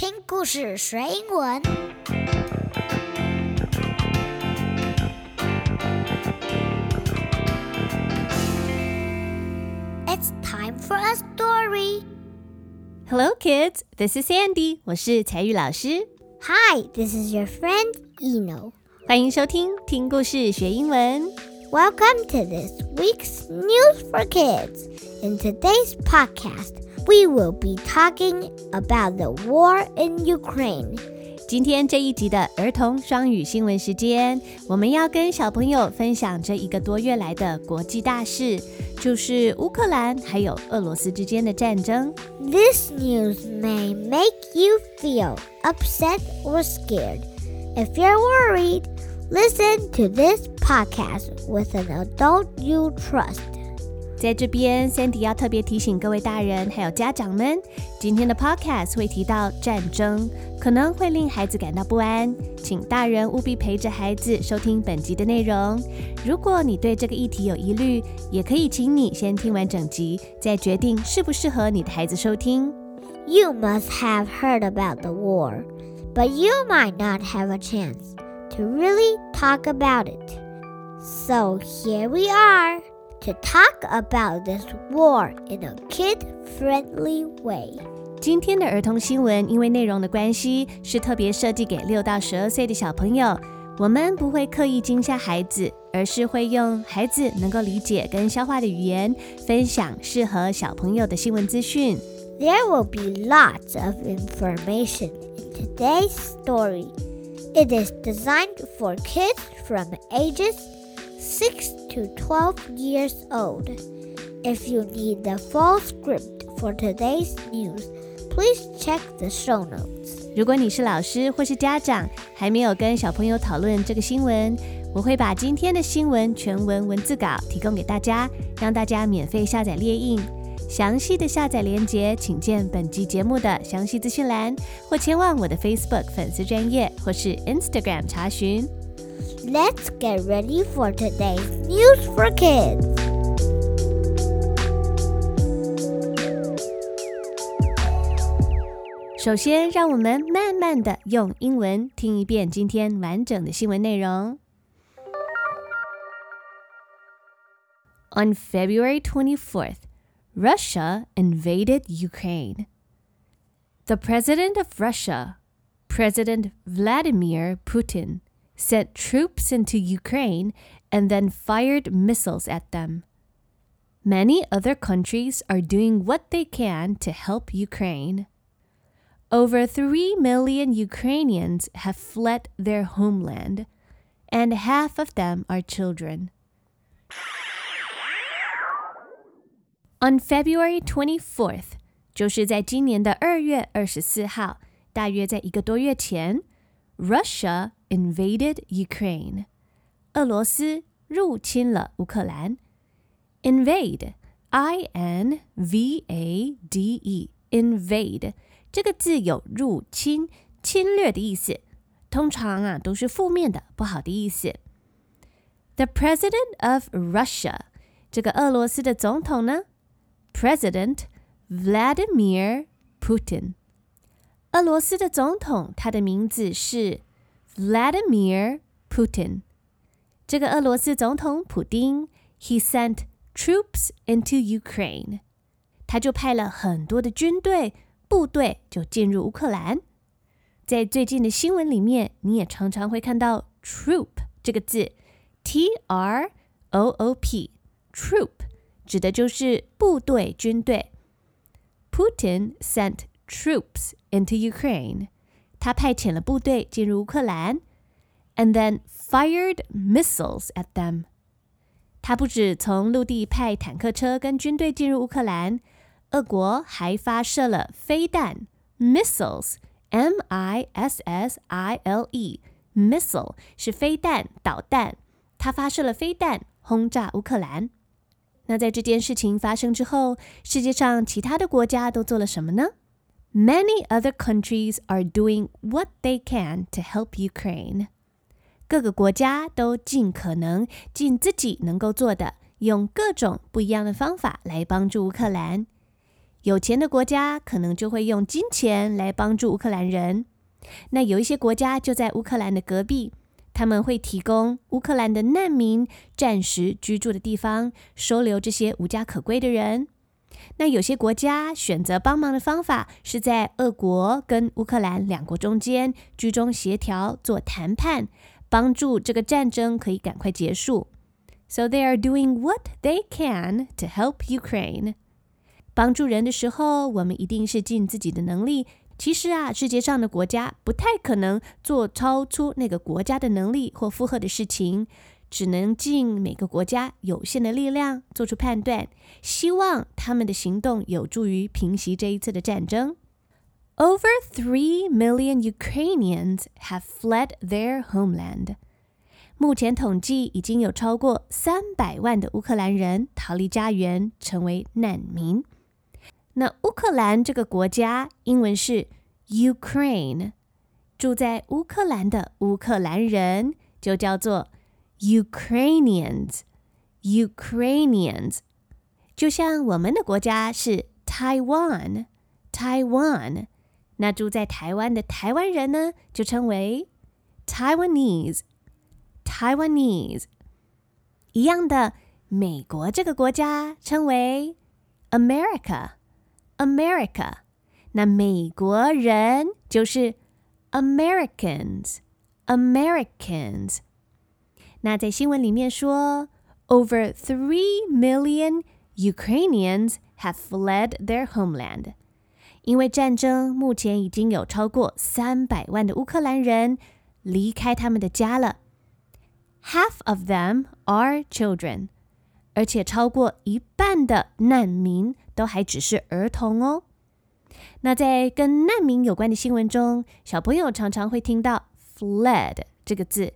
聽故事學英文。It's time for a story. Hello, kids. This is Sandy. 我是采語老師。 Hi, this is your friend Eno. 歡迎收聽聽故事學英文。 Welcome to this week's News for Kids. In today's podcast, we will be talking about the war in Ukraine. 今天這一集的兒童雙語新聞時間，我們要跟小朋友分享這一個多月來的國際大事，就是烏克蘭還有俄羅斯之間的戰爭。 This news may make you feel upset or scared. If you're worried, listen to this podcast with an adult you trust. 在這邊 Sandy 要特別提醒各位大人還有家長們，今天的 podcast 會提到戰爭，可能會令孩子感到不安，請大人務必陪着孩子收聽本集的內容。如果你對這個議題有疑慮，也可以請你先聽完整集，再決定適不適合你的孩子收聽。 You must have heard about the war, but you might not have a chance to really talk about it. So here we are to talk about this war in a kid-friendly way. 今天的兒童新聞因為內容的關係，是特別設計給6到12歲的小朋友。我們不會刻意驚嚇孩子，而是會用孩子能夠理解跟消化的語言，分享適合小朋友的新聞資訊。 There will be lots of information in today's story. It is designed for kids from ages 6 to 12 years old. If you need the full script for today's news, please check the show notes. 如果你是老師或是家長，還沒有跟小朋友討論這個新聞，我會把今天的新聞全文文字稿提供給大家，讓大家免費下載列印。詳細的下載連結，請見本集節目的詳細資訊欄，或前往我的 Facebook 粉絲專頁或是 Instagram 查詢。 Let's get ready for today's News for Kids. 首先，讓我們慢慢的用英文聽一遍今天完整的新聞內容。On February 24th, Russia invaded Ukraine. The president of Russia, President Vladimir Putin, sent troops into Ukraine and then fired missiles at them. Many other countries are doing what they can to help Ukraine. Over 3 million Ukrainians have fled their homeland, and half of them are children. On February 24th, 就是在今年的2月24號，大約在1個多月前， Russia invaded Ukraine. 俄羅斯入侵了烏克蘭。Invade, I-N-V-A-D-E, invade 這個字有入侵、侵略的意思，通常都是負面的、不好的意思。The president of Russia, 這個俄羅斯的總統呢？ President Vladimir Putin. 俄羅斯的總統，他的名字是 Vladimir Putin. 這個俄羅斯總統普丁 he sent troops into Ukraine. 他就派了很多的軍隊、部隊就進入烏克蘭。在最近的新聞裡面，你也常常會看到 troop 這個字 T-R-O-O-P troop 指的就是部隊、軍隊。Putin sent troops into Ukraine. 他派遣了部隊進入烏克蘭 and then fired missiles at them. 他不止從陸地派坦克車跟軍隊進入烏克蘭，俄國還發射了飛彈 missiles, M-I-S-S-I-L-E, missile 是飛彈、導彈，他發射了飛彈轟炸烏克蘭。那在這件事情發生之後，世界上其他的國家都做了什麼呢？ Many other countries are doing what they can to help Ukraine. 各個國家都盡可能盡自己能夠做的，用各種不一樣的方法來幫助烏克蘭。 有錢的國家可能就會用金錢來幫助烏克蘭人。那有一些國家就在烏克蘭的隔壁，他們會提供烏克蘭的難民暫時居住的地方，收留這些無家可歸的人。那有些國家選擇幫忙的方法是在俄國跟烏克蘭兩國中間居中協調做談判，幫助這個戰爭可以趕快結束。So they are doing what they can to help Ukraine. 幫助人的時候，我們一定是盡自己的能力。其實世界上的國家不太可能做超出那個國家的能力或負荷的事情，只能盡每個國家有限的力量做出判斷，希望他們的行動有助於平息這一次的戰爭。Over 3 million Ukrainians have fled their homeland. 目前統計已經有超過300萬的烏克蘭人逃離家園，成為難民。那烏克蘭這個國家英文是 Ukraine， 住在烏克蘭的烏克蘭人就叫做 Ukrainians。 就像我們的國家是 Taiwan， 那住在台灣的台灣人呢，就稱為 Taiwanese。一樣的，美國這個國家稱為 America。那美國人就是 Americans。那在新聞裡面說 Over 3 million Ukrainians have fled their homeland. 因為戰爭，目前已經有超過300萬的烏克蘭人離開他們的家了。Half of them are children. 而且超過一半的難民都還只是兒童哦。那在跟難民有關的新聞中，小朋友常常會聽到 fled 這個字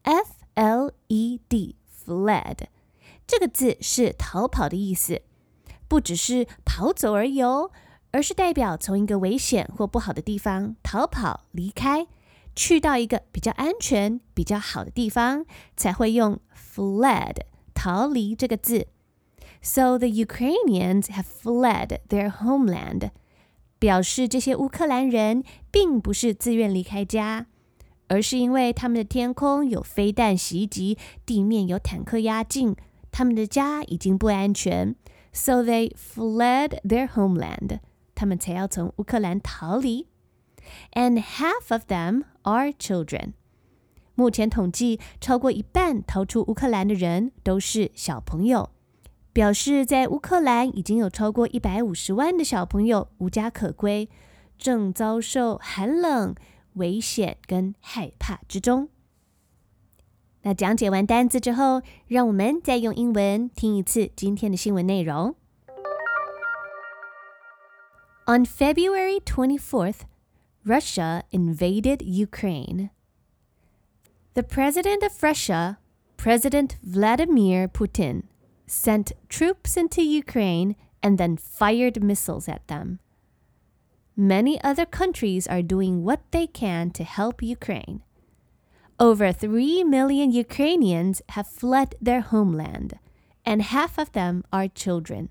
F-L-E-D fled 這個字是逃跑的意思，不只是跑走而已哦，而是代表從一個危險或不好的地方逃跑離開，去到一個比較安全比較好的地方，才會用 fled逃離這個字。 So the Ukrainians have fled their homeland. 表示這些烏克蘭人並不是自願離開家，而是因為他們的天空有飛彈襲擊，地面有坦克壓境，他們的家已經不安全。So they fled their homeland. 他們才要從烏克蘭逃離。And half of them are children. 目前統計，超過一半逃出烏克蘭的人都是小朋友，表示在烏克蘭已經有超過150萬的小朋友無家可歸，正遭受寒冷、危險跟害怕之中。那講解完單字之後，讓我們再用英文聽一次今天的新聞內容。On February 24th, Russia invaded Ukraine. The president of Russia, President Vladimir Putin, sent troops into Ukraine and then fired missiles at them. Many other countries are doing what they can to help Ukraine. Over 3 million Ukrainians have fled their homeland, and half of them are children.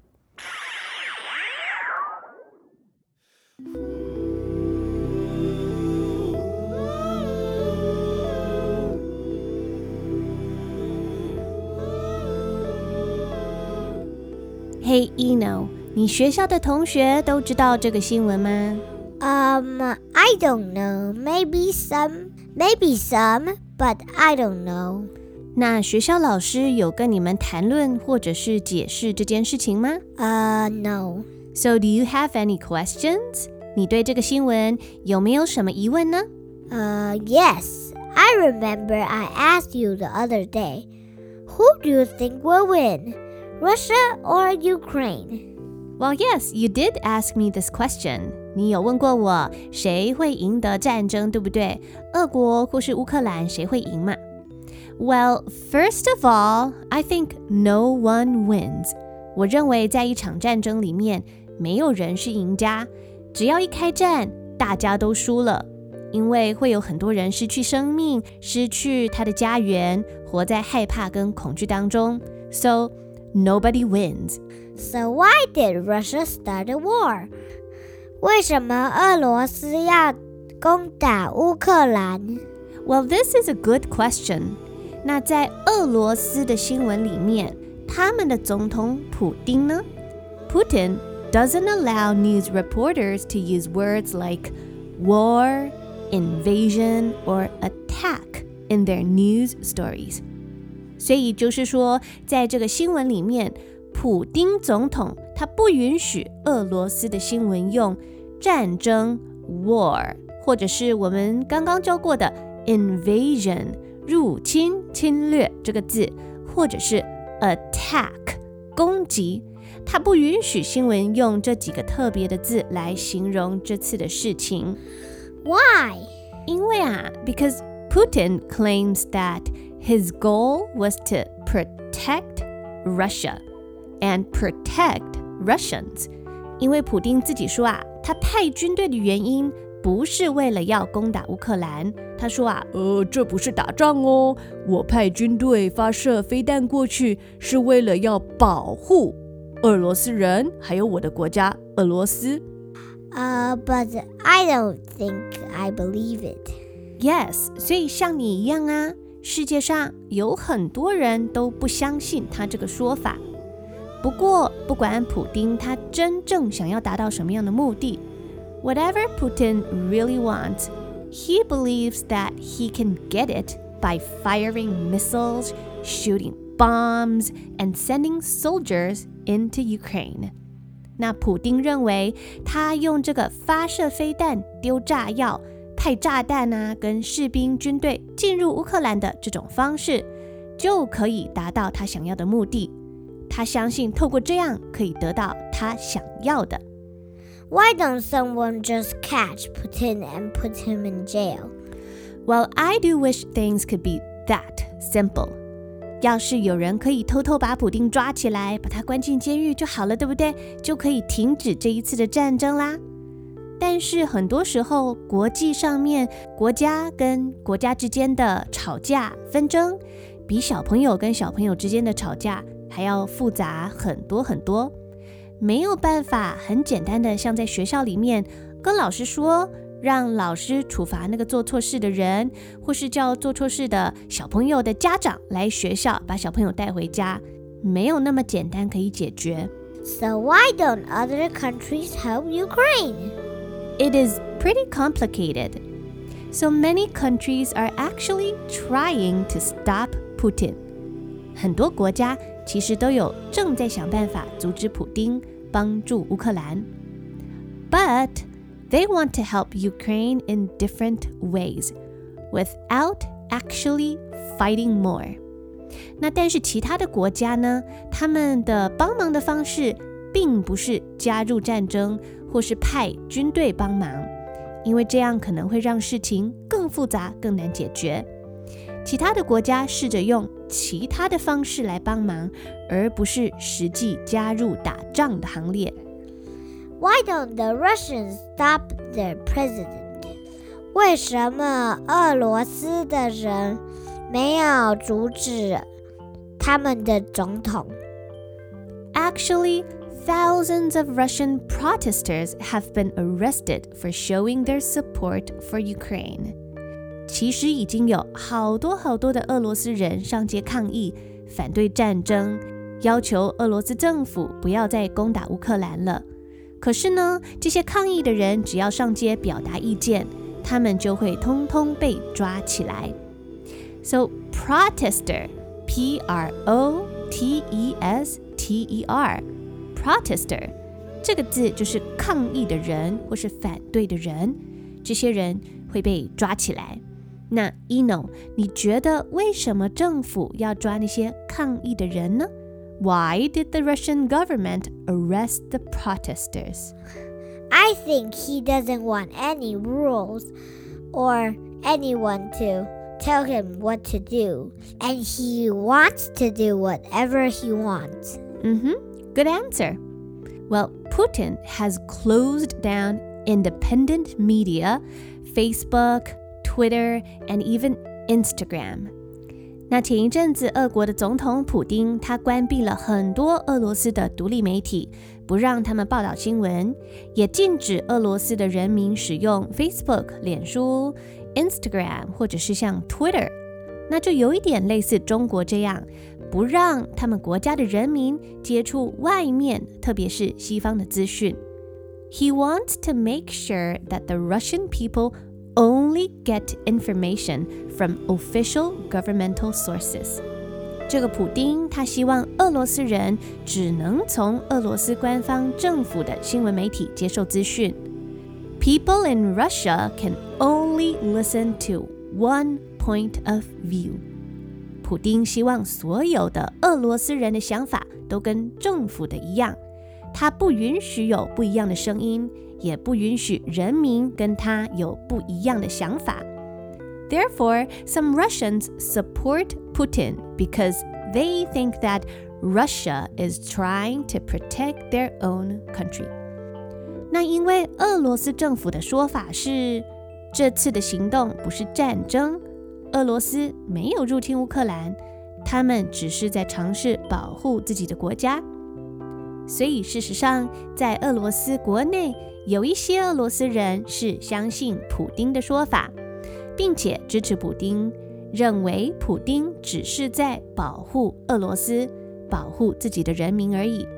Hey Eno, 你學校的同學都知道這個新聞嗎 ？I don't know. Maybe some, but I don't know. 那學校老師有跟你們談論或者是解釋這件事情嗎 ？No. So do you have any questions? 你對這個新聞有沒有什麼疑問呢 ？Yes. I remember I asked you the other day, who do you think will win? Russia or Ukraine? Well, yes, you did ask me this question. 你有問過我誰會贏得戰爭，對不對？俄國或是烏克蘭誰會贏嘛？ Well, first of all, I think no one wins. 我認為在一場戰爭裡面，沒有人是贏家。只要一開戰，大家都輸了，因為會有很多人失去生命，失去他的家園，活在害怕跟恐懼當中。So nobody wins. So why did Russia start a war? 為什麼俄羅斯要攻打烏克蘭？ Well, this is a good question. 那在俄羅斯的新聞裡面，他們的總統普丁呢？ Putin doesn't allow news reporters to use words like war, invasion, or attack in their news stories. 所以就是說，在這個新聞裡面，普丁總統他不允許俄羅斯的新聞用戰爭 war， 或者是我們剛剛教過的 invasion 入侵、侵略這個字，或者是 attack 攻擊，他不允許新聞用這幾個特別的字來形容這次的事情。 Why? 因為because Putin claims that his goal was to protect Russia and protect Russians. 因為普丁自己說他派軍隊的原因不是為了要攻打烏克蘭。他說這不是打仗哦，我派軍隊發射飛彈過去是為了要保護俄羅斯人，還有我的國家俄羅斯。 But I don't think I believe it. Yes, 所以像你一樣世界上有很多人都不相信他這個說法。不過，不管普丁他真正想要達到什麼樣的目的 ，whatever Putin really wants, he believes that he can get it by firing missiles, shooting bombs, and sending soldiers into Ukraine. 那普丁認為，他用這個發射飛彈、丟炸藥、派炸彈跟士兵軍隊進入烏克蘭的這種方式，就可以達到他想要的目的。他相信透過這樣可以得到他想要的。 Why don't someone just catch Putin and put him in jail? Well, I do wish things could be that simple. 要是有人可以偷偷把普丁抓起來，把他關進監獄就好了，對不對？就可以停止這一次的戰爭啦。但是很多時候，國際上面國家跟國家之間的吵架紛爭，比小朋友跟小朋友之間的吵架還要複雜很多很多。沒有辦法很簡單的像在學校裡面跟老師說，讓老師處罰那個做錯事的人，或是叫做錯事的小朋友的家長來學校把小朋友帶回家，沒有那麼簡單可以解決。 So why don't other countries help Ukraine? It is pretty complicated. So many countries are actually trying to stop Putin. 很多國家其實都有正在想辦法阻止普丁，幫助烏克蘭。But they want to help Ukraine in different ways, without actually fighting more. 那但是其他的國家呢，他們的幫忙的方式並不是加入戰爭，或是派軍隊幫忙，因為這樣可能會讓事情更複雜、更難解決。其他的國家試着用其他的方式來幫忙，而不是實際加入打仗的行列。 Why don't the Russians stop their president? 為什麼俄羅斯的人沒有阻止他們的總統？ Actually, thousands of Russian protesters have been arrested for showing their support for Ukraine. 其實已經有好多的俄羅斯人上街抗議，反對戰爭，要求俄羅斯政府不要再攻打烏克蘭了。可是呢，這些抗議的人只要上街表達意見，他們就會通通被抓起來。So protester, P-R-O-T-E-S-T-E-R, protester, 這個字就是抗議的人或是反對的人，這些人會被抓起來。那 Eno, 你覺得為什麼政府要抓那些抗議的人呢？ Why did the Russian government arrest the protesters? I think he doesn't want any rules or anyone to tell him what to do, and he wants to do whatever he wants. Good answer. Well, Putin has closed down independent media, Facebook, Twitter, and even Instagram. 那前一陣子，俄國的總統普丁他關閉了很多俄羅斯的獨立媒體，不讓他們報道新聞，也禁止俄羅斯的人民使用 Facebook、臉書、Instagram 或者是像 Twitter， 那就有一點類似中國這樣，不讓他們國家的人民接觸外面，特別是西方的資訊。He wants to make sure that the Russian people only get information from official governmental sources. 這個普丁他希望俄羅斯人只能從俄羅斯官方政府的新聞媒體接受資訊。People in Russia can only listen to one point of view. 普丁希望所有的俄羅斯人的想法都跟政府的一樣，他不允許有不一樣的聲音，也不允許人民跟他有不一樣的想法。Therefore, some Russians support Putin because they think that Russia is trying to protect their own country. 那因為俄羅斯政府的說法是，這次的行動不是戰爭，俄羅斯沒有入侵烏克蘭，他們只是在嘗試保護自己的國家。所以事實上，在俄羅斯國內，有一些俄羅斯人是相信普丁的說法，並且支持普丁，認為普丁只是在保護俄羅斯，保護自己的人民而已。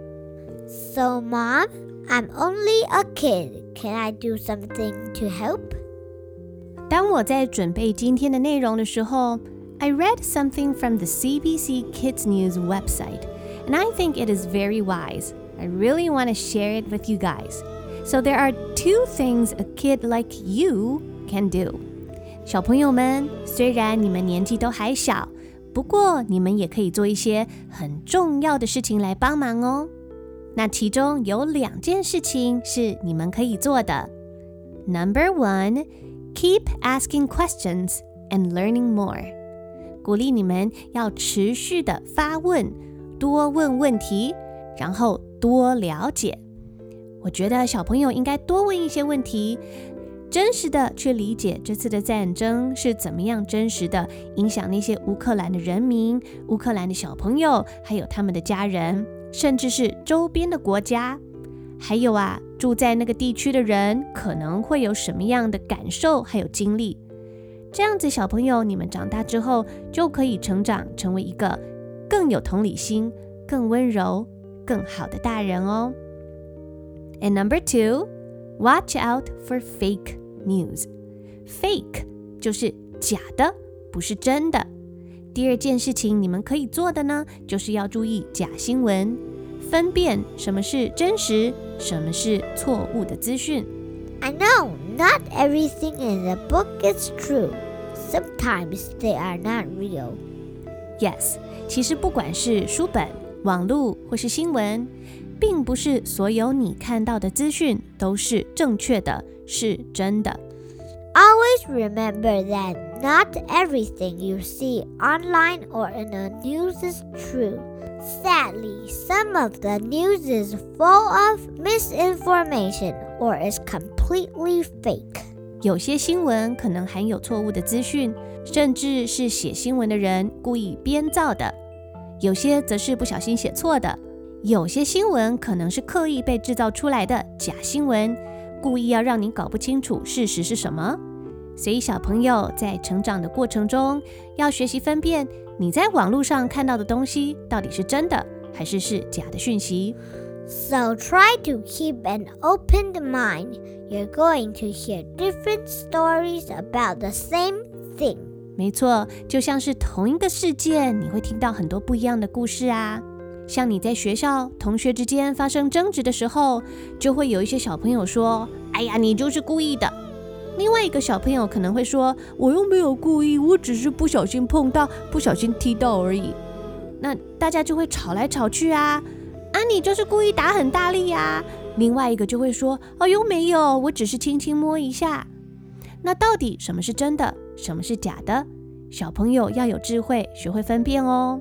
So, Mom, I'm only a kid. Can I do something to help? 當我在準備今天的內容的時候， I read something from the CBC Kids News website, and I think it is very wise. I really want to share it with you guys. So there are 2 things a kid like you can do. 小朋友們，雖然你們年紀都還小，不過你們也可以做一些很重要的事情來幫忙哦。那其中有2件事情是你們可以做的。Number 1, keep asking questions and learning more. 鼓勵你們要持續的發問，多問問題，然後多了解。我覺得小朋友應該多問一些問題，真實的去理解這次的戰爭是怎麼樣真實的影響那些烏克蘭的人民、烏克蘭的小朋友，還有他們的家人，甚至是周邊的國家。還有住在那個地區的人可能會有什麼樣的感受還有經歷。這樣子小朋友，你們長大之後就可以成長成為一個更有同理心、更溫柔、更好的大人哦。And number 2, watch out for fake news. Fake 就是假的，不是真的。第2件事情你們可以做的呢，就是要注意假新聞，分辨什麼是真實，什麼是錯誤的資訊。 I know not everything in the book is true. Sometimes they are not real. Yes, 其實不管是書本、網絡或是新聞，並不是所有你看到的資訊都是正確的，是真的。 Always remember that not everything you see online or in the news is true. Sadly, some of the news is full of misinformation or is completely fake. 有些新聞可能含有錯誤的資訊，甚至是寫新聞的人故意編造的。有些則是不小心寫錯的。有些新聞可能是刻意被製造出來的假新聞，故意要讓你搞不清楚事實是什麼。所以小朋友在成長的過程中，要學習分辨你在網絡上看到的東西到底是真的，還是假的訊息。 So try to keep an open mind. You're going to hear different stories about the same thing. 沒錯，就像是同一個事件，你會聽到很多不一樣的故事啊。像你在學校同學之間發生爭執的時候，就會有一些小朋友說，哎呀，你就是故意的。另外一個小朋友可能會說，我又沒有故意，我只是不小心碰到，不小心踢到而已。那大家就會吵來吵去啊，你就是故意打很大力啊。另外一個就會說，又沒有，我只是輕輕摸一下。那到底什麼是真的，什麼是假的？小朋友要有智慧，學會分辨哦。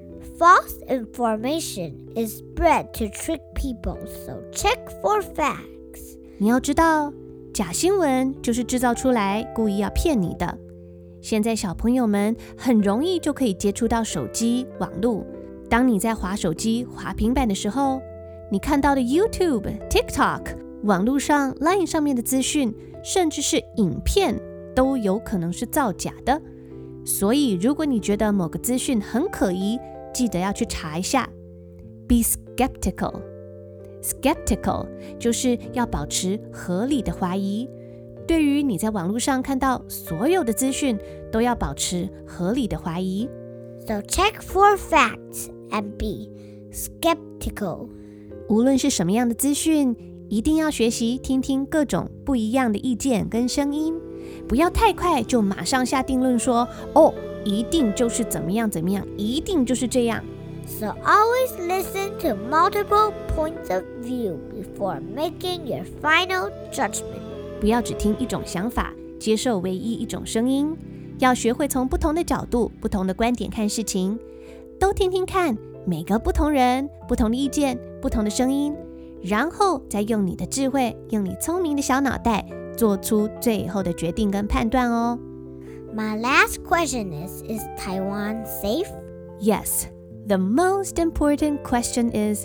False information is spread to trick people, so check for facts. 你要知道，假新聞就是製造出來，故意要騙你的。 現在小朋友們很容易就可以接觸到手機、網絡。當你在滑手機、滑平板的時候，你看到的 YouTube、TikTok、網絡上 Line 上面的資訊，甚至是影片，都有可能是造假的。所以如果你覺得某個資訊很可疑，記得要去查一下。Be skeptical. Skeptical 就是要保持合理的懷疑。對於你在網絡上看到所有的資訊，都要保持合理的懷疑。 So check for facts and be skeptical. 無論是什麼樣的資訊，一定要學習聽聽各種不一樣的意見跟聲音，不要太快就馬上下定論說，哦，一定就是怎麼樣怎麼樣，一定就是這樣。 So always listen to multiple points of view before making your final judgment. 不要只聽一種想法，接受唯一一種聲音，要學會從不同的角度、不同的觀點看事情，都聽聽看每個不同人、不同的意見、不同的聲音，然後再用你的智慧、用你聰明的小腦袋做出最後的決定跟判斷哦。 My last question is Taiwan safe? Yes, the most important question is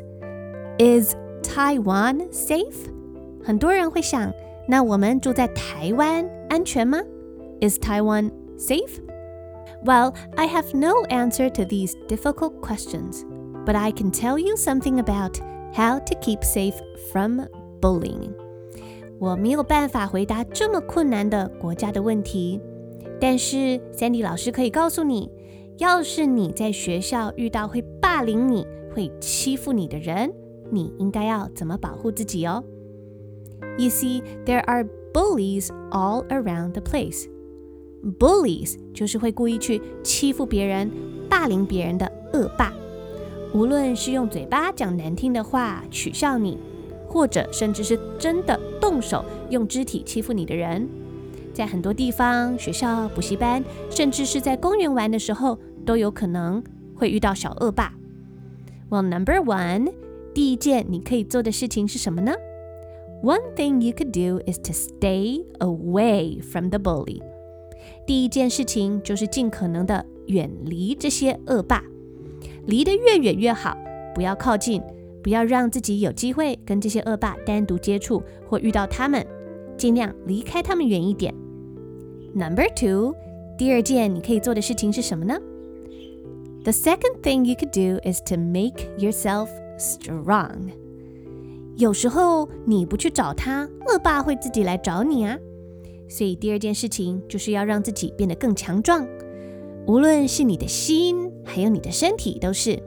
Taiwan safe? 很多人會想，那我們住在台灣安全嗎？ Is Taiwan safe? Well, I have no answer to these difficult questions, but I can tell you something about how to keep safe from bullying. 我沒有辦法回答這麼困難的國家的問題，但是 Sandy 老師可以告訴你，要是你在學校遇到會霸凌你、會欺負你的人，你應該要怎麼保護自己哦？ You see, there are bullies all around the place. Bullies 就是会故意去欺負別人、霸凌別人的惡霸。無論是用嘴巴講難聽的話取笑你，或者甚至是真的動手用肢體欺負你的人，在很多地方、學校、補習班，甚至是在公園玩的時候，都有可能會遇到小惡霸。Well, number one, 第一件你可以做的事情是什麼呢？ One thing you could do is to stay away from the bully. 第一件事情就是盡可能的遠離這些惡霸，離得越遠越好，不要靠近，不要讓自己有機會跟這些惡霸單獨接觸或遇到他們，盡量離開他們遠一點。Number two, 第二件你可以做的事情是什麼呢？ The second thing you could do is to make yourself strong. 有時候你不去找他，惡霸會自己來找你啊。所以第二件事情就是要讓自己變得更強壯，無論是你的心還有你的身體都是。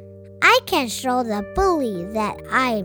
I can show the bully that I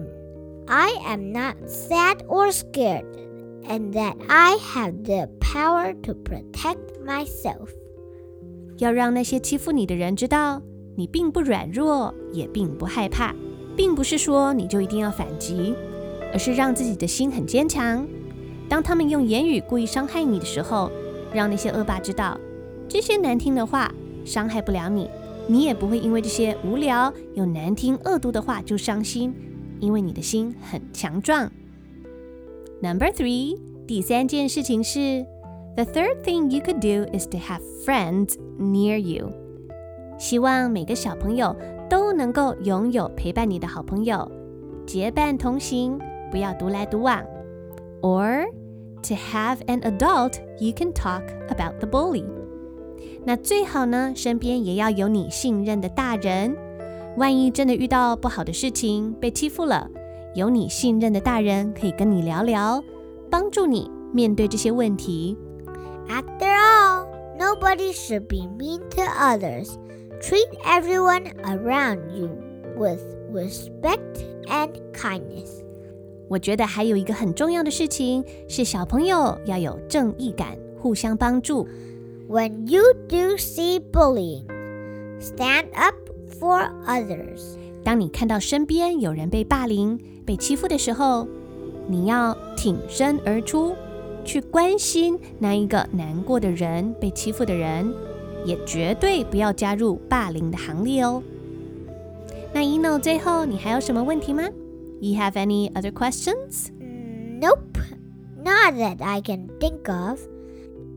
am not sad or scared, and that I have the power to protect myself. 要讓那些欺負你的人知道，你並不軟弱，也並不害怕，並不是說你就一定要反擊，而是讓自己的心很堅強。當他們用言語故意傷害你的時候，讓那些惡霸知道，這些難聽的話傷害不了你，你也不會因為這些無聊又難聽惡毒的話就傷心，因為你的心很強壯。Number three, 第三件事情是 The third thing you could do is to have friends near you. 希望每個小朋友都能夠擁有陪伴你的好朋友，結伴同行，不要獨來獨往。Or to have an adult you can talk about the bully. 那最好呢，身邊也要有你信任的大人，萬一真的遇到不好的事情，被欺負了，有你信任的大人可以跟你聊聊，幫助你面對這些問題。 After all, nobody should be mean to others. Treat everyone around you with respect and kindness. 我覺得還有一個很重要的事情是小朋友要有正義感，互相幫助。 When you do see bullying, stand up for others. 當你看到身邊有人被霸凌、被欺負的時候，你要挺身而出，去關心那一個難過的人、被欺負的人，也絕對不要加入霸凌的行列哦。那Eno，最後你還有什麼問題嗎？You have any other questions? Nope, not that I can think of.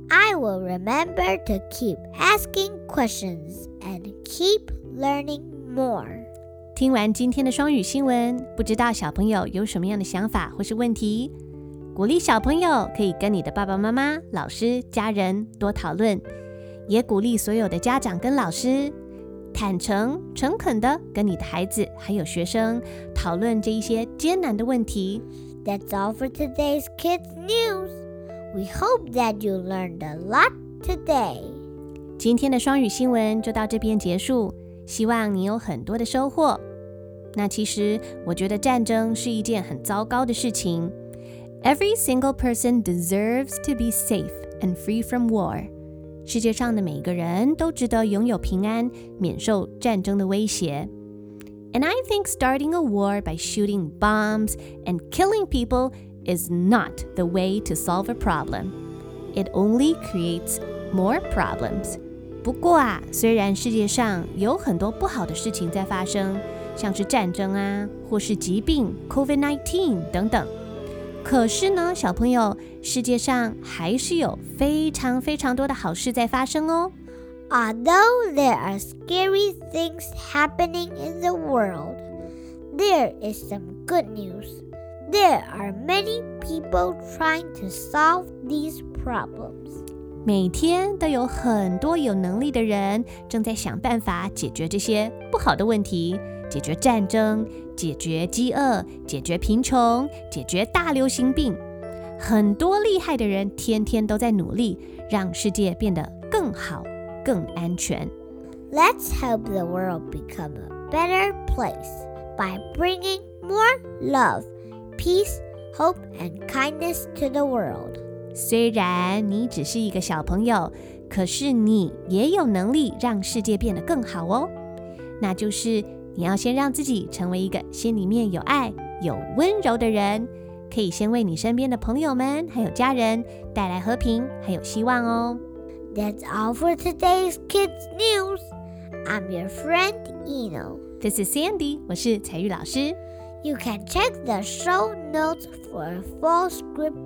I will remember to keep asking questions and keep learning more. 聽完今天的雙語新聞，不知道小朋友有什麼樣的想法或是問題？鼓勵小朋友可以跟你的爸爸媽媽、老師、家人多討論，也鼓勵所有的家長跟老師坦誠、誠懇的跟你的孩子還有學生討論這一些艱難的問題。 That's all for today's Kids News. We hope that you learned a lot today. 今天的雙語新聞就到這邊結束，希望你有很多的收穫。那其實我覺得戰爭是一件很糟糕的事情。Every single person deserves to be safe and free from war. 世界上的每個人都值得擁有平安，免受戰爭的威脅。And I think starting a war by shooting bombs and killing people is not the way to solve a problem. It only creates more problems. 不過啊，雖然世界上有很多不好的事情在發生，像是戰爭啊，或是疾病 COVID-19 等等，可是呢，小朋友，世界上還是有非常非常多的好事在發生哦。 Although there are scary things happening in the world, there is some good news. There are many people trying to solve these problems. 每天都有很多有能力的人正在想辦法解決這些不好的問題，解決戰爭，解決飢餓，解決貧窮，解決大流行病。很多厲害的人天天都在努力，讓世界變得更好，更安全。 Let's help the world become a better place by bringing more love, peace, hope, and kindness to the world. 雖然你只是一個小朋友，可是你也有能力讓世界變得更好哦。那就是你要先讓自己成為一個心裡面有愛、有溫柔的人，可以先為你身邊的朋友們還有家人帶來和平還有希望哦。 That's all for today's Kids News. I'm your friend Eno. This is Sandy. 我是彩玉老師。 You can check the show notes for a full script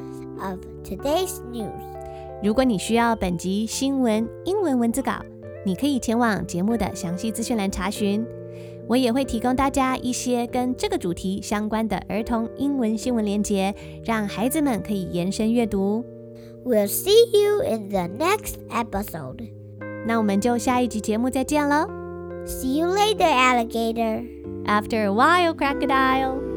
of today's news. 如果你需要本集新聞英文文字稿，你可以前往節目的詳細資訊欄查詢。我也會提供大家一些跟這個主題相關的兒童英文新聞連結，讓孩子們可以延伸閱讀。 We'll see you in the next episode. 那我們就下一集節目再見了。 See you later, alligator. After a while, crocodile.